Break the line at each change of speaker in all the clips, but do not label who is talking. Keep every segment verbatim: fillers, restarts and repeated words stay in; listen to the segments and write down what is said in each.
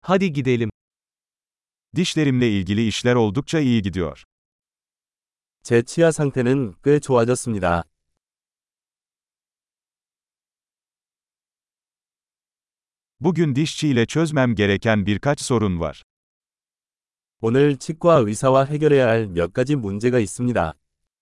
Hadi gidelim.
Dişlerimle ilgili işler oldukça iyi gidiyor.
제 치아 상태는 꽤 좋아졌습니다.
Bugün dişçiyle çözmem gereken birkaç sorun var.
오늘 치과 의사와 해결해야 할 몇 가지 문제가 있습니다.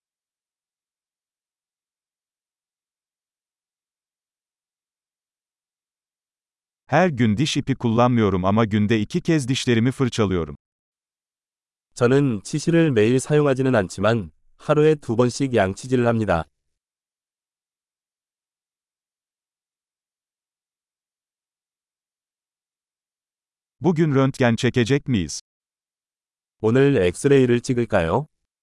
Her gün diş ipi kullanmıyorum ama günde iki kez dişlerimi fırçalıyorum.
저는 치실을 매일 사용하지는 않지만 하루에 두 번씩 양치질을 합니다.
Bugün röntgen çekecek miyiz?
오늘 엑스레이를 찍을까요?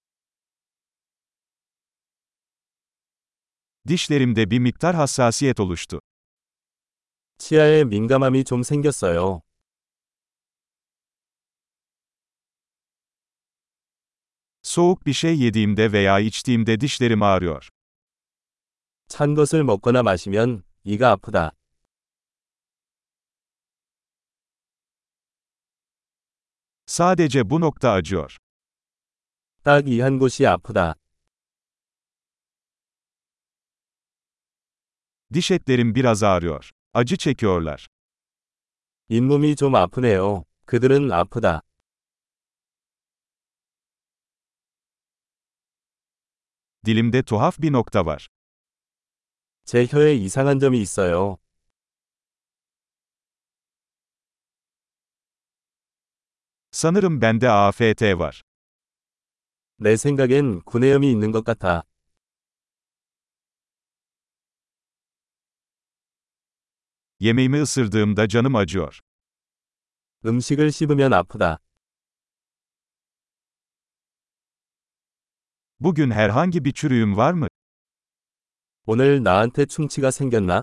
Dişlerimde bir miktar hassasiyet oluştu.
치아에 민감함이 좀 생겼어요.
Soğuk bir şey yediğimde veya içtiğimde dişlerim ağrıyor.
찬 것을 먹거나 마시면 이가 아프다.
Sadece bu nokta acıyor.
딱 이 한 곳이 아프다.
Diş etlerim biraz ağrıyor. Acı çekiyorlar.
잇몸이 좀 아프네요. 그들은 아프다.
Dilimde tuhaf bir nokta var.
제 혀에 이상한 점이 있어요.
Sanırım bende A F T var.
내 생각엔 구내염이 있는 것 같아.
Yemeğimi ısırdığımda canım acıyor.
음식을 씹으면 아프다.
Bugün herhangi bir çürüğüm var mı?
오늘 나한테 충치가 생겼나?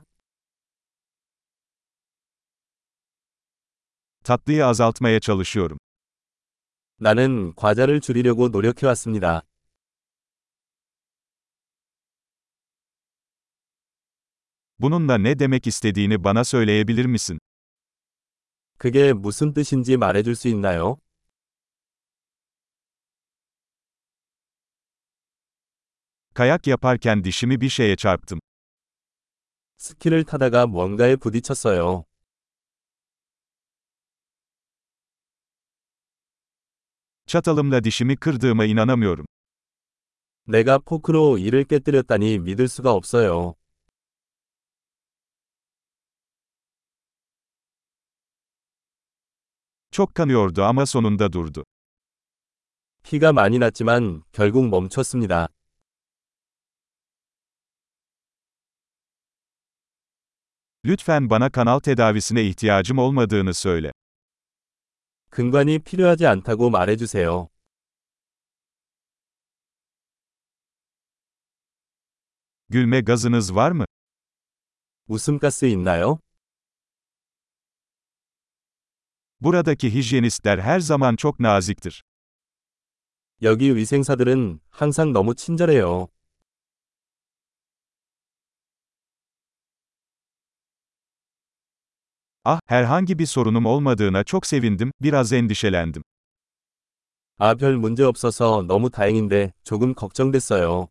Tatlıyı azaltmaya çalışıyorum.
나는 과자를 줄이려고 노력해왔습니다.
Bununla ne demek istediğini bana söyleyebilir misin?
그게 무슨 뜻인지 말해줄 수 있나요?
Kayak yaparken dişimi bir şeye çarptım.
스키를 타다가 뭔가에 부딪혔어요.
Çatalımla dişimi kırdığıma inanamıyorum.
내가 포크로 이를 깨뜨렸다니 믿을 수가 없어요.
Çok kanıyordu ama sonunda durdu.
피가 많이 났지만 결국 멈췄습니다.
Lütfen bana kanal tedavisine ihtiyacım olmadığını söyle.
근관이 필요하지 않다고 말해주세요.
Gülme gazınız var mı?
웃음가스 있나요?
Buradaki hijyenistler her zaman çok naziktir.
여기 위생사들은 항상 너무 친절해요.
Ah, herhangi bir sorunum olmadığına çok sevindim, biraz endişelendim.
아, 별 문제 없어서 너무 다행인데 조금 걱정됐어요.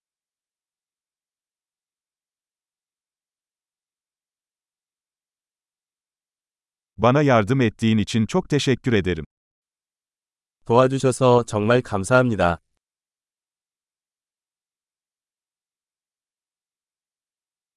Bana yardım ettiğin için çok teşekkür ederim.
도와주셔서 정말 감사합니다.